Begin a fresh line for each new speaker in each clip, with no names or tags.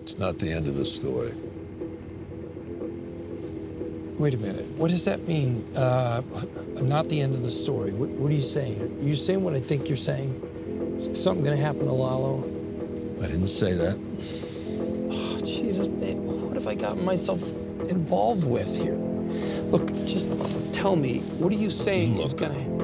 It's not the end of the story.
Wait a minute. What does that mean? Not the end of the story. What are you saying? Are you saying what I think you're saying? Is something going to happen to Lalo?
I didn't say that.
Oh, Jesus, man. What have I gotten myself involved with here? Look, just tell me, what are you saying is going to...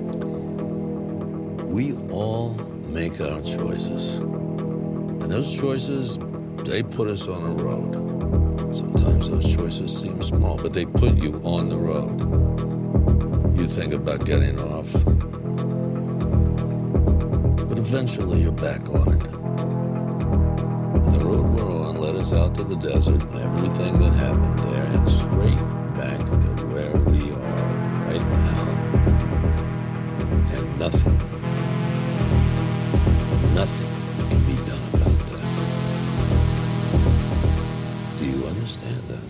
We all make our choices. And those choices, they put us on a road. Sometimes those choices seem small, but they put you on the road. You think about getting off, but eventually you're back on it. And the road we're on led us out to the desert and everything that happened there, and straight back to where we are right now. And nothing can be done about that. Do you understand that?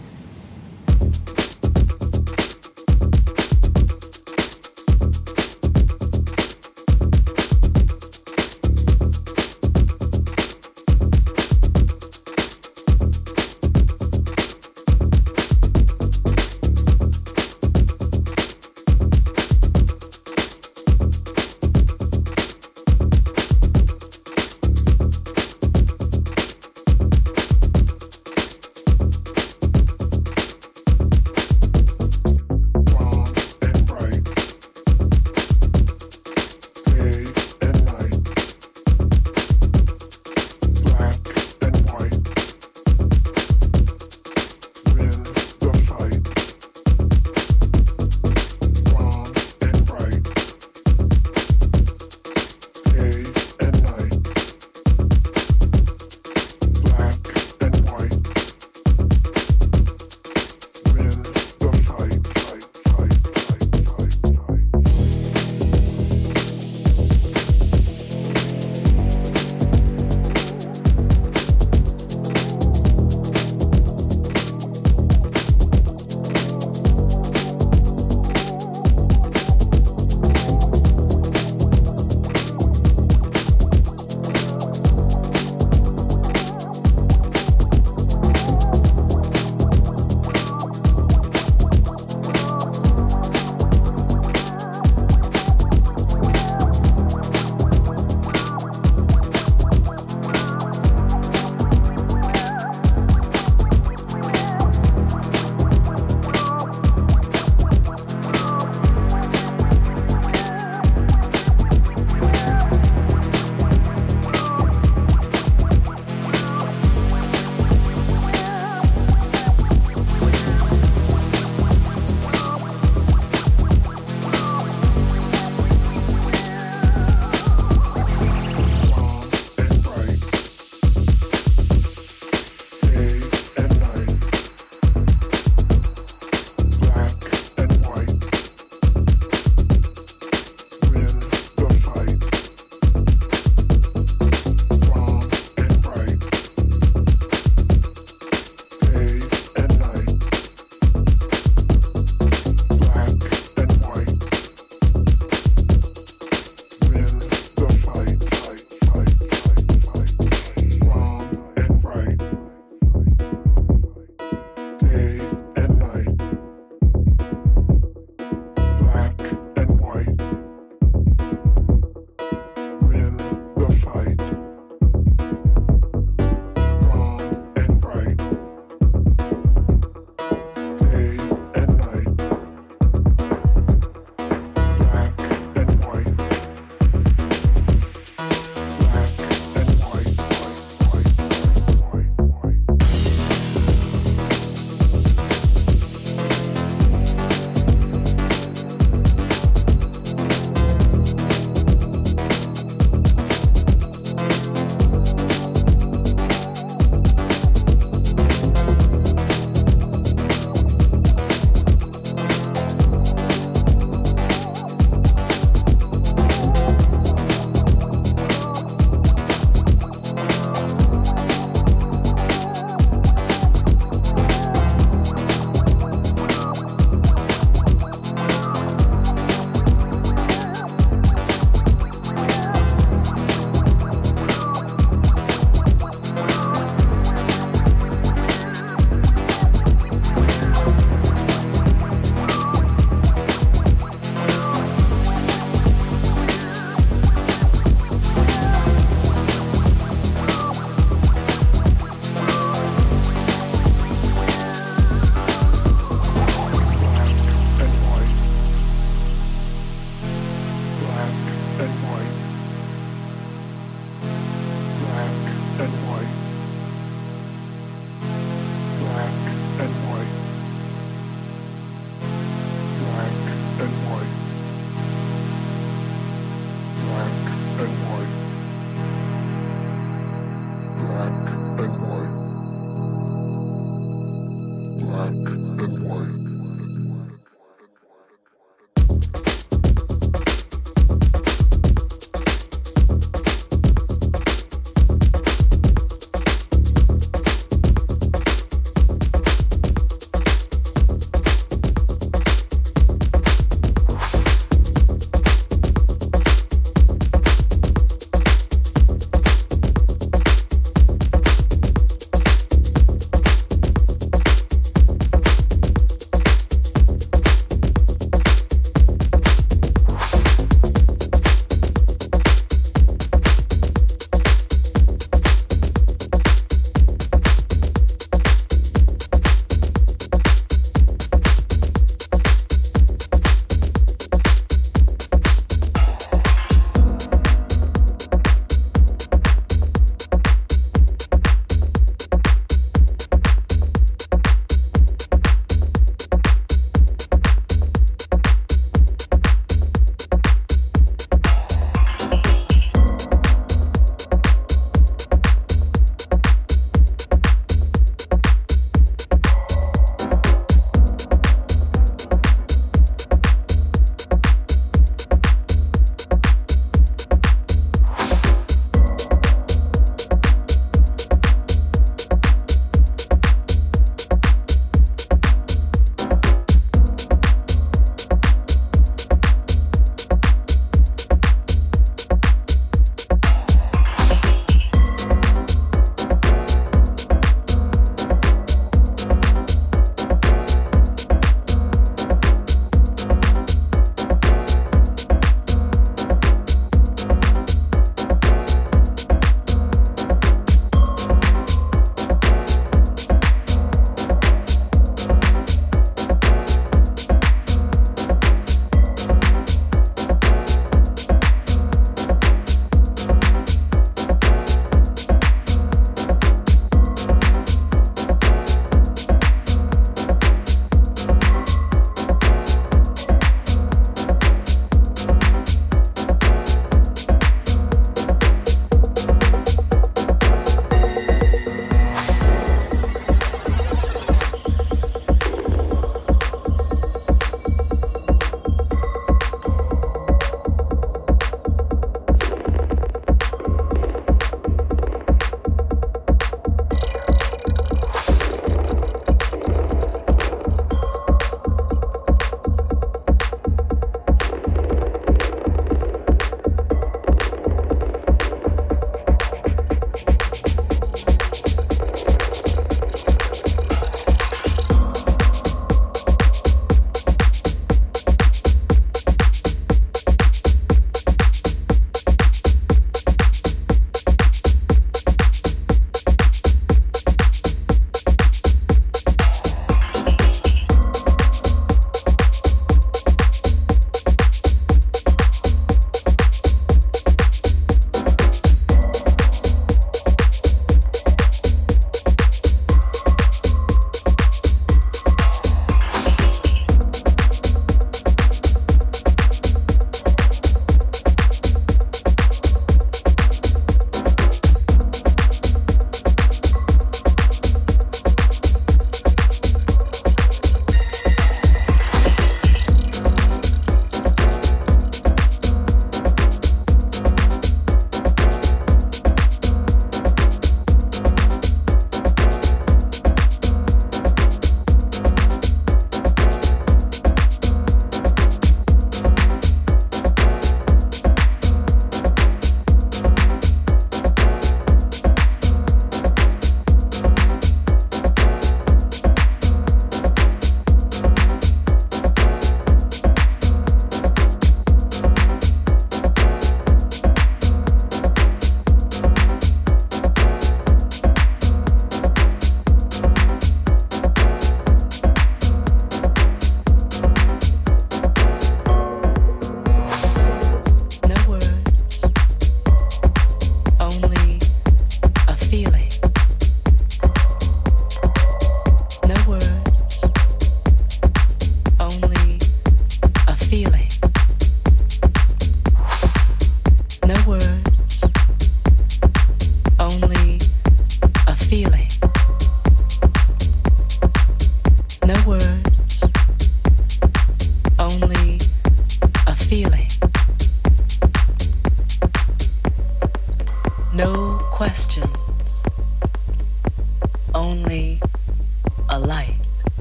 only a light.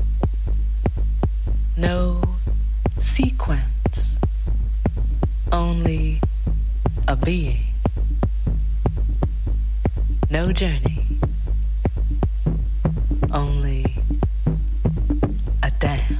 No sequence, only a being. No journey, only a dance.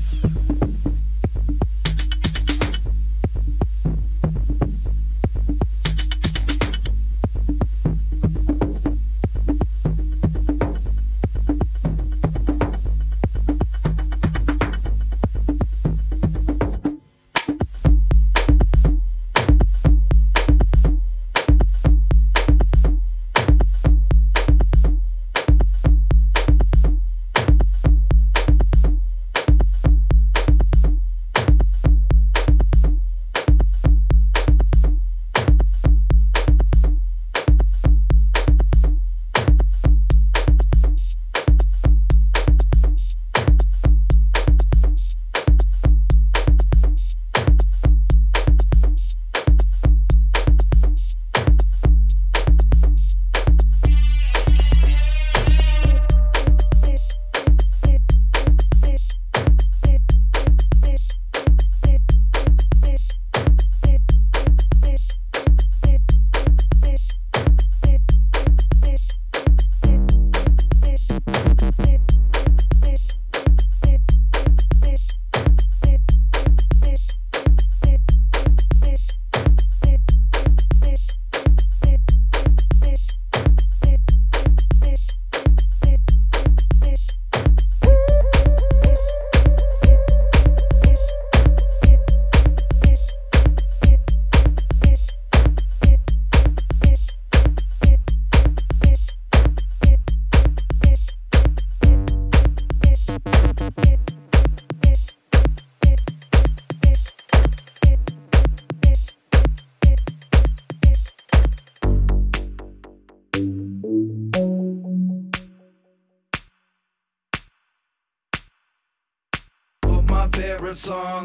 Favorite song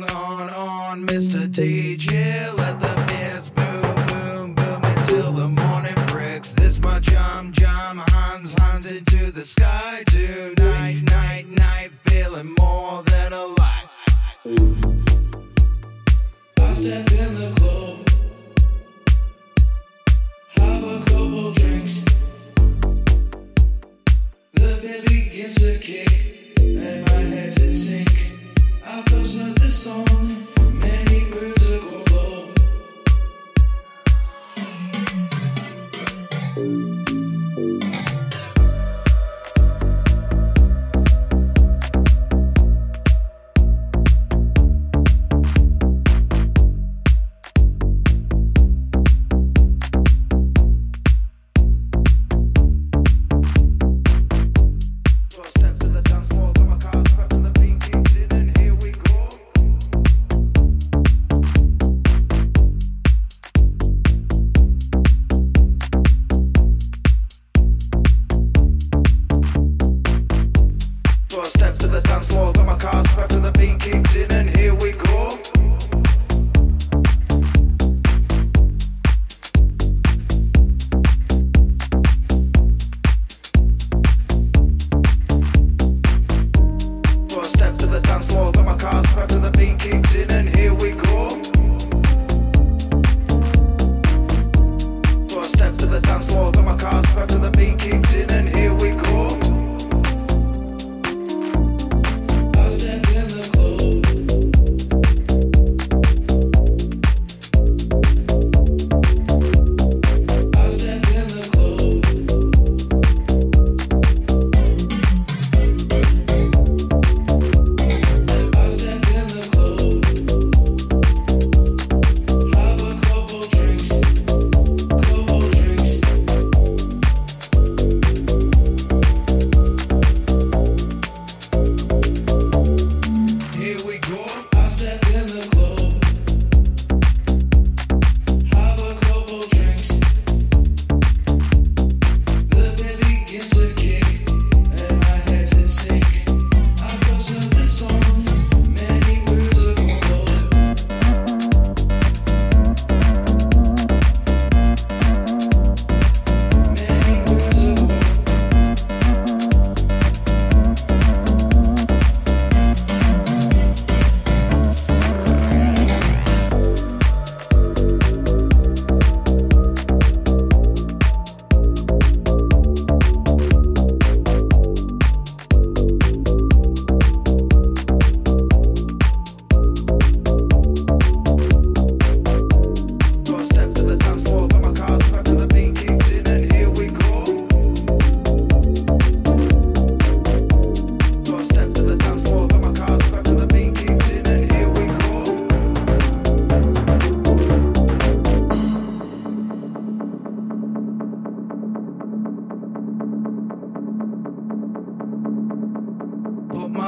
on Mr. DJ. Let the bass boom, boom, boom until the morning breaks. This my jam, hands into the sky. Tonight, night, feeling more than alive. I step in the club, have a couple drinks. The bass begins to kick, and my head's in sync. I first heard this song many moons ago. Step to the dance floor, got my cards prepped and the beat kicks in, and here we go.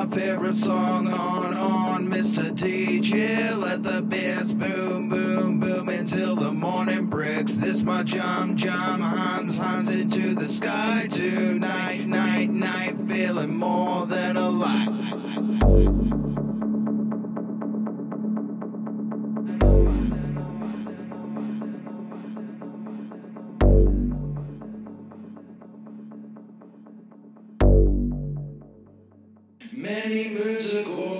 my favorite song on, Mr. DJ. Let the bass boom, boom, boom until the morning breaks. This my jam, Hans into the sky tonight, night, feeling more than alive. Many moons ago,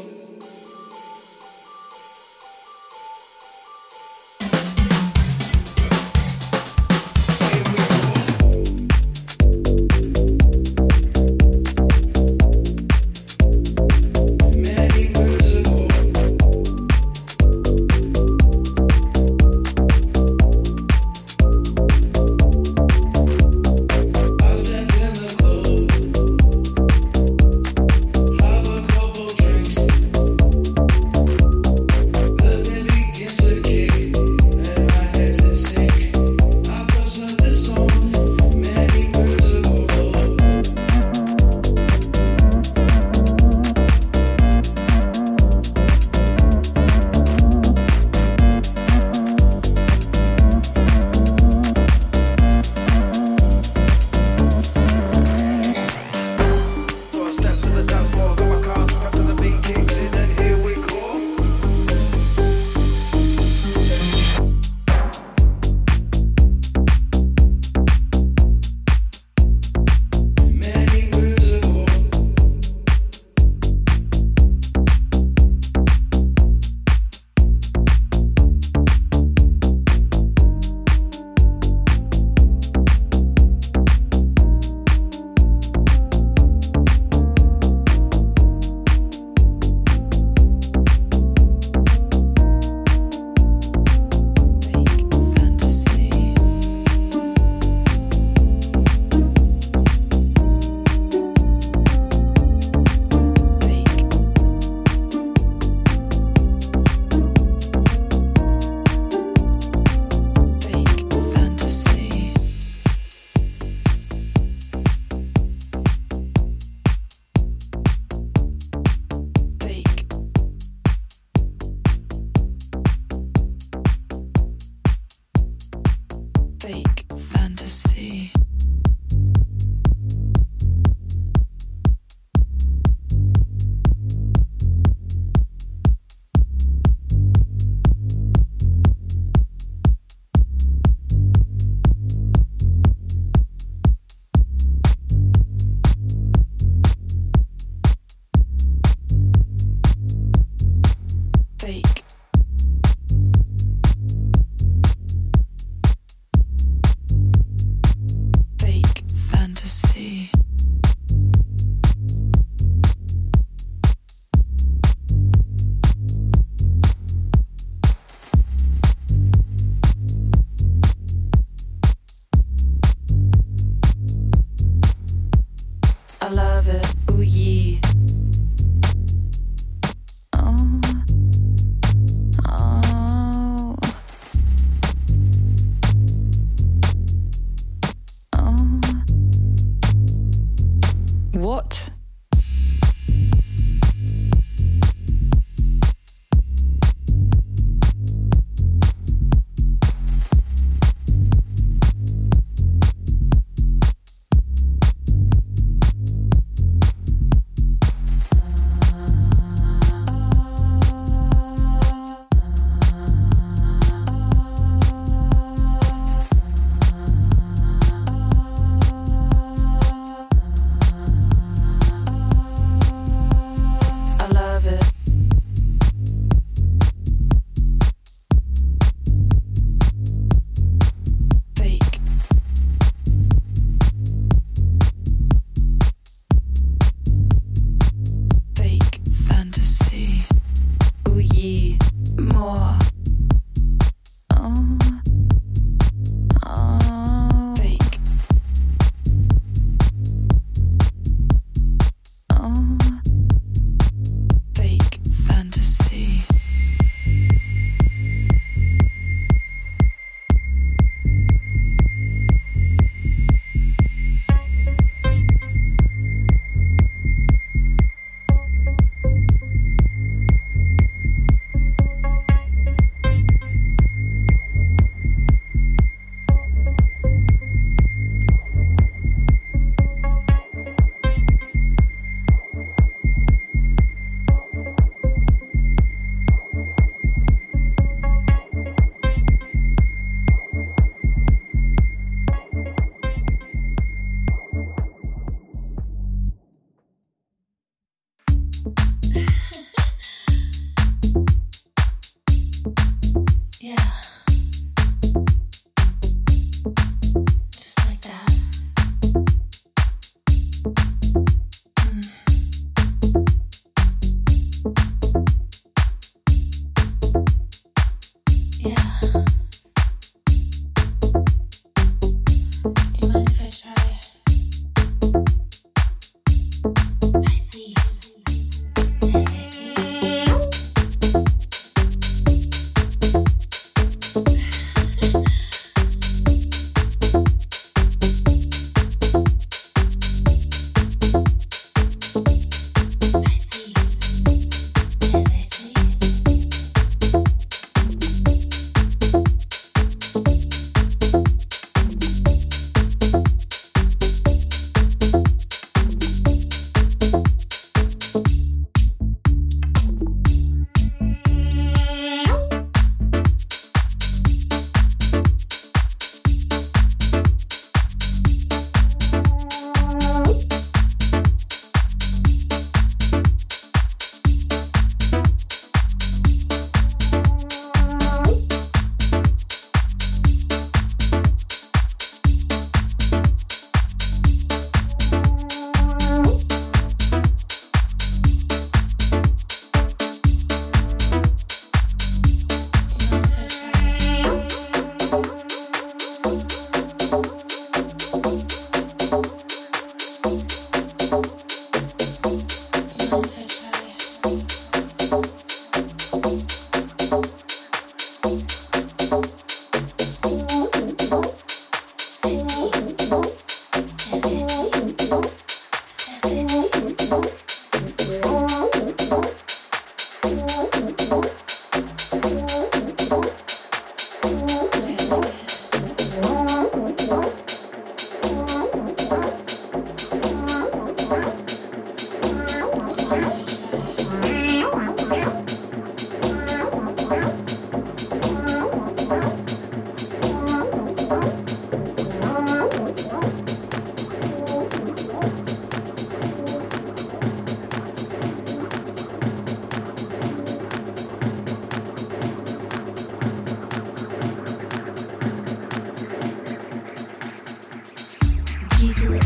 I love it, ooh yeah.
What?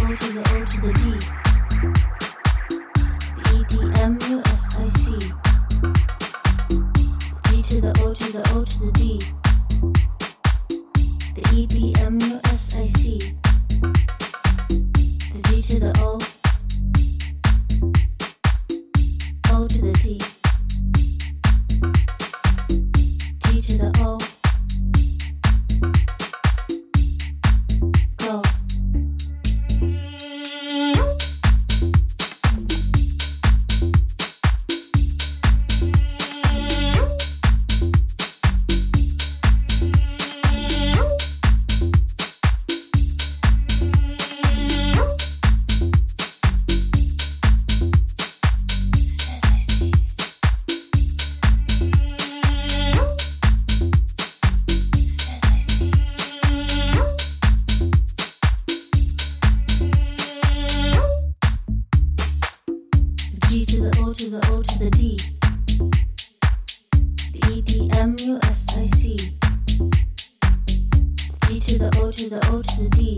O to the O to the D. The E D M U S I C. G to the O to the O to the D. The E D M U S I C. The G to the O. O to the D. G to the O. Go. G to the O to the O to the D. The E D M U S I C. G to the O to the O to the D.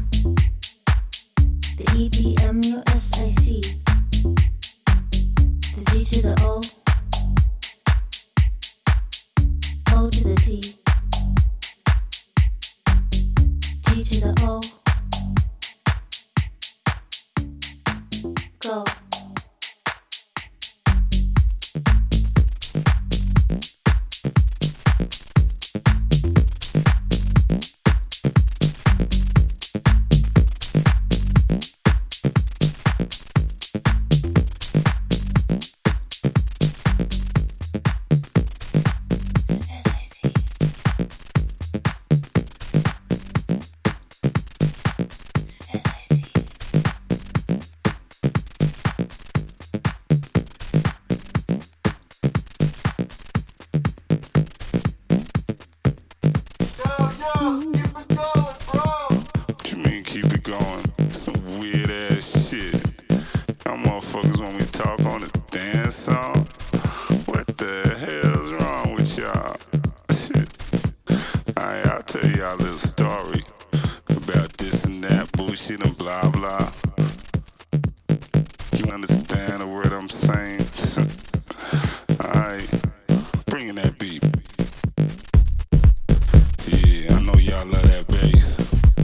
The E D M U S I C. The G to the O. O to the D. G to the O. Go.
What you mean keep it going? Some weird ass shit. Y'all motherfuckers want me to talk on the dance song? What the hell's wrong with y'all? Shit. Alright, I'll tell y'all a little story about this and that bullshit and blah blah. You understand the word I'm saying? Alright, bring in that beat. Yeah, I know y'all love that bass.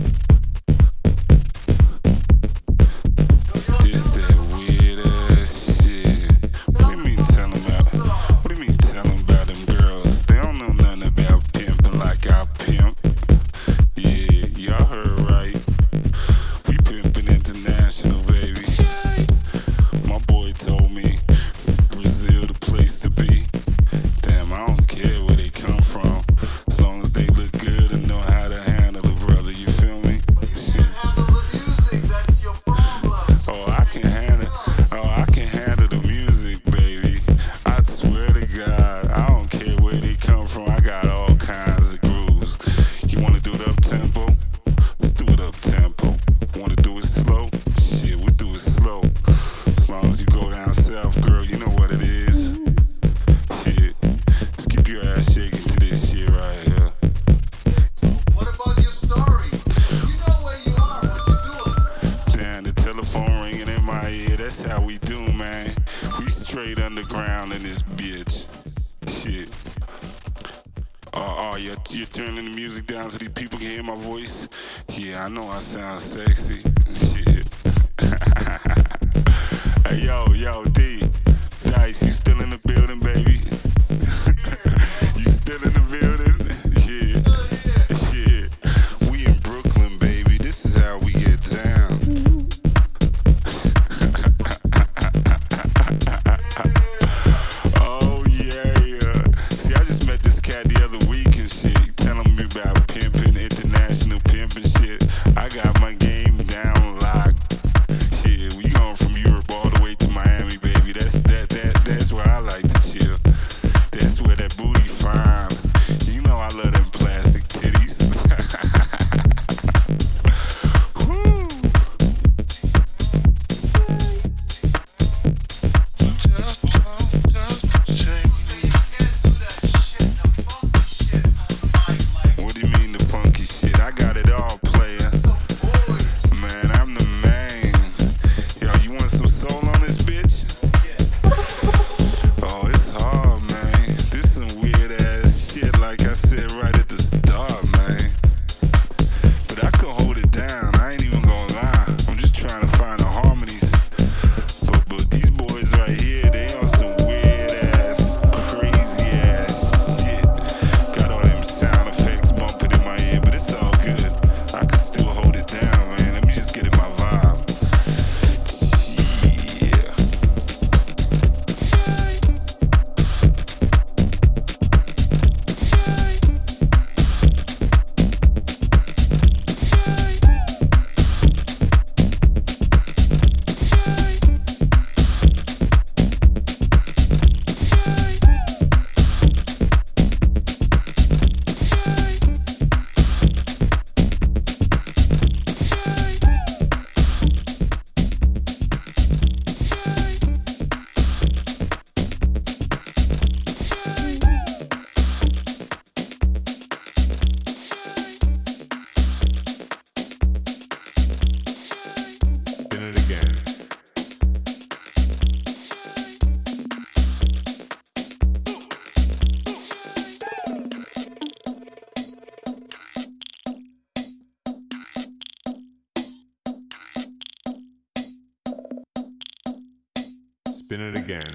This that weird ass shit. What do you mean tell them about them girls? They don't know nothing about pimping like I pimp. Yeah, y'all heard right. We pimping international, baby. My boy told me Brazil the place to be. Damn, I don't care where they come from, as long as they look good and know how to handle it, brother. You feel me? Shit. Oh, I can handle the music, baby. I swear to God, I don't care where they come from. I got all kinds of grooves. You wanna do it up tempo? Let's do it up tempo. Wanna do it slow? Shit, we do it slow. As long as you go down south, girl, you know what it is. Shit, just keep your ass shaking to this shit right here.
What about your story? You know where you are, what you doing?
Damn, the telephone ringing in my ear. That's how we do, man. We straight underground in this bitch. Shit. You're turning the music down so these people can hear my voice? Yeah, I know I sound sexy. Shit. Hey, yo, D. Dice, you still in the building, baby? You still in the building? Yeah. We in Brooklyn, baby. This is how we get down. Oh, yeah. See, I just met this cat the other week and shit, telling me about pimping, international pimping shit. I got my game down locked.
Spin it again.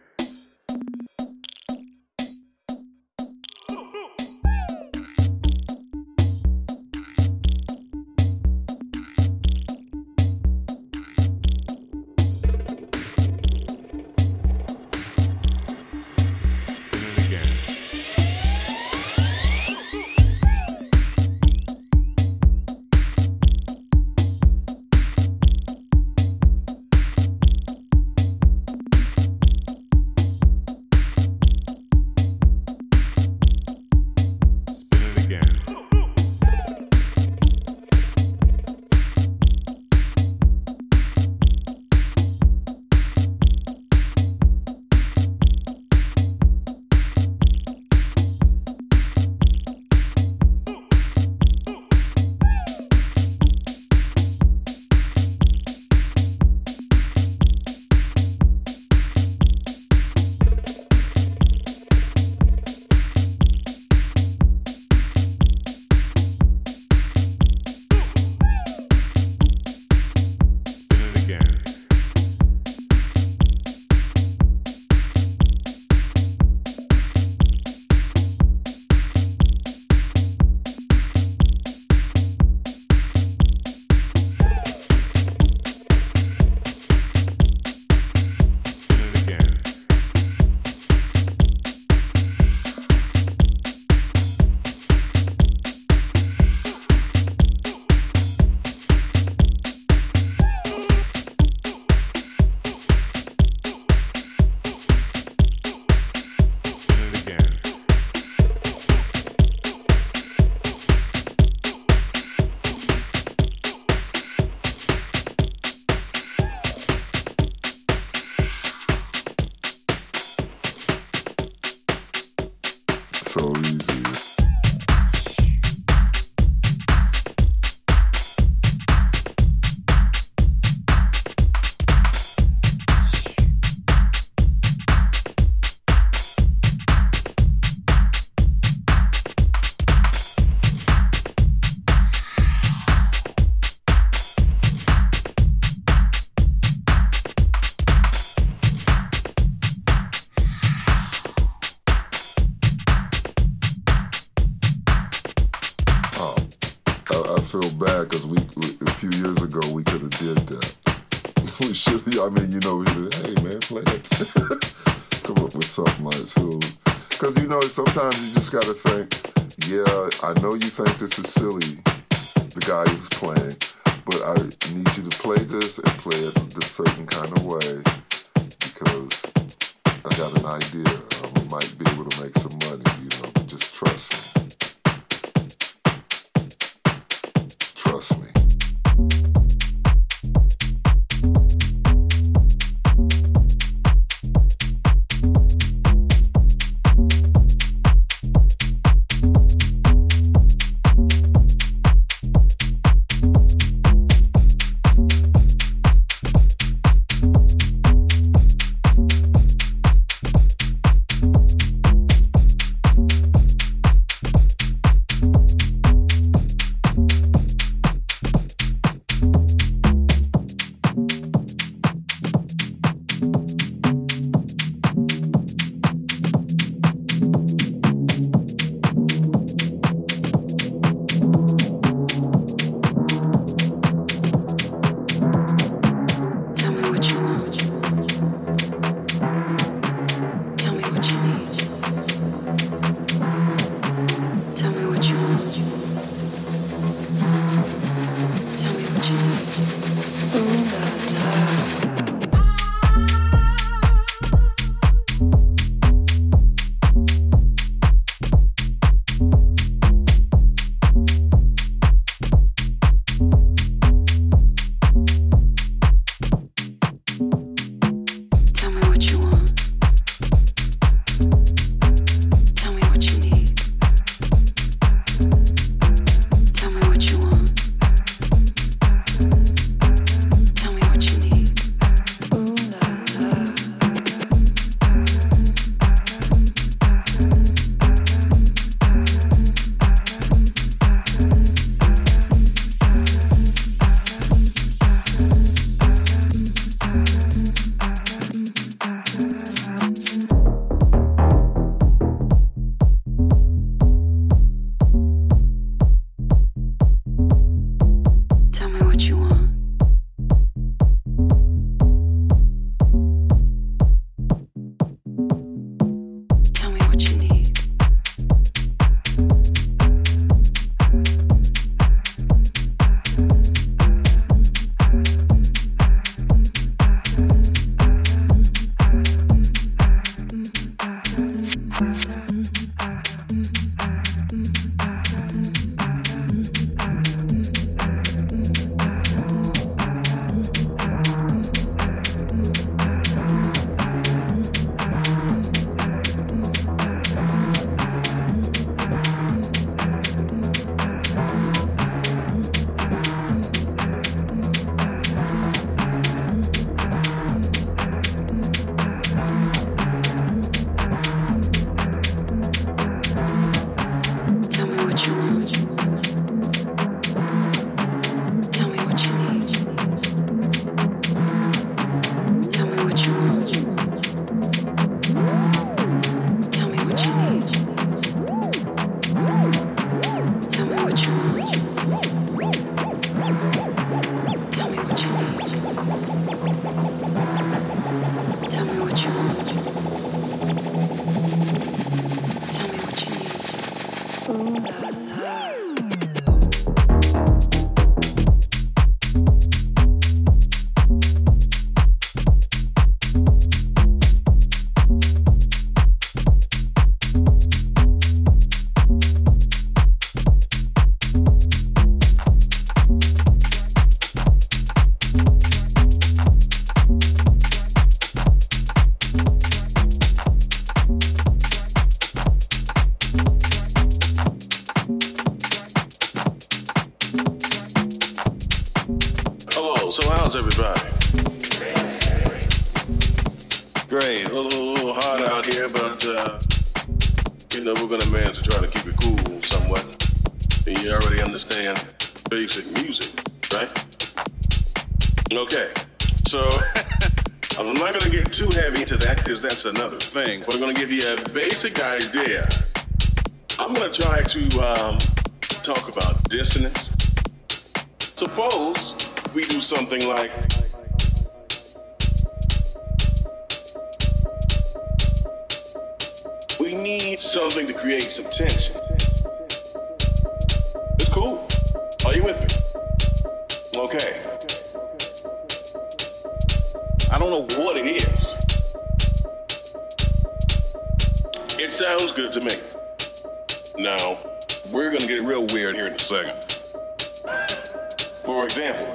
So easy. I feel bad because a few years ago we could have did that. We should. I mean, you know, we should. Hey man, play that. Come up with something like this. Because you know, sometimes you just gotta think. Yeah, I know you think this is silly, the guy who's playing, but I need you to play this and play it this certain kind of way because I got an idea. We might be able to make some money. You know, but just trust me. Trust me.
Great. A little hot out here, but, we're going to manage to try to keep it cool somewhat. And you already understand basic music, right? Okay. So, I'm not going to get too heavy into that because that's another thing. But I'm going to give you a basic idea. I'm going to try to talk about dissonance. Suppose we do something like... We need something to create some tension. It's cool. Are you with me? Okay. I don't know what it is. It sounds good to me. Now, we're gonna get real weird here in a second. For example,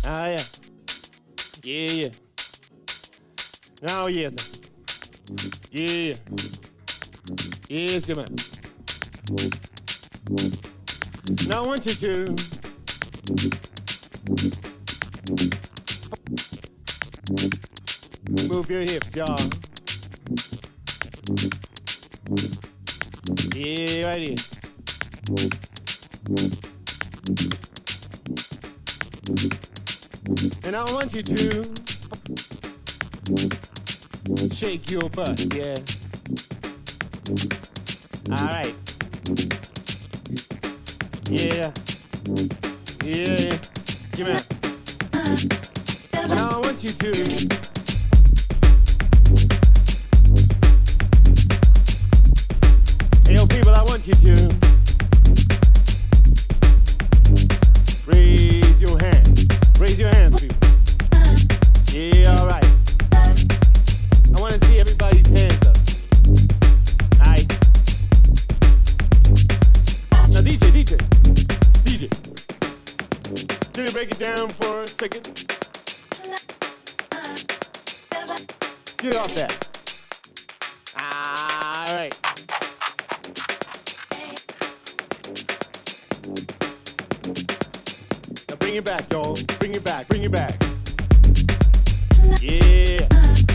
Ah, yeah. Yeah, yeah. Oh, yes. Yeah. Yes, come on. Now I want you to move your hips, y'all. Yeah, right here. And I want you to shake your butt, yeah. All right. Yeah. Yeah. Give me that. Now I want you to hey, yo, people, I want you to raise your hands. Raise your hands, people. Yeah, all right. I want to see everybody's hands up. All right. Now, DJ. Can you break it down for a second? Get off that. All right. Now bring it back, y'all. Bring it back. Yeah.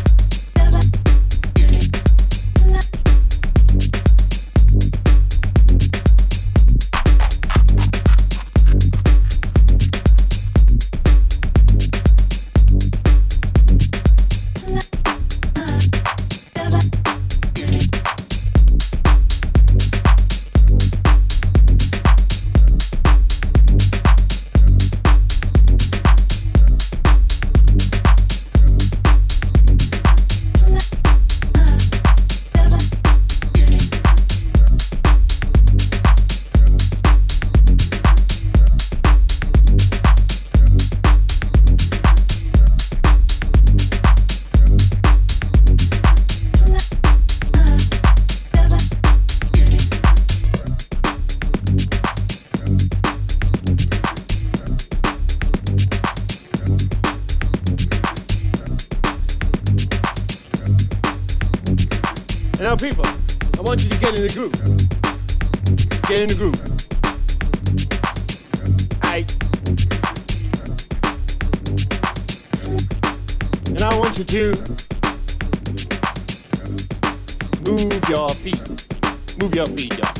And now, people, I want you to get in the groove. Get in the groove. Aight. And I want you to move your feet. Move your feet, y'all.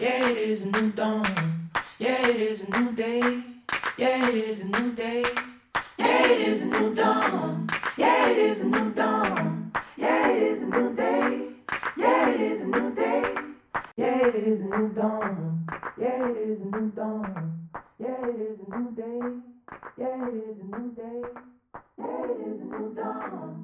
Yeah, it is a new dawn. Yeah, it is a new day. Yeah, it is a new day. Yeah, it is a new dawn. Yeah, it is a new dawn. Yeah, it is a new day. Yeah, it is a new day. Yeah, it is a new dawn. Yeah, it is a new dawn. Yeah, it is a new day. Yeah, it is a new day. Yeah, it is a new dawn.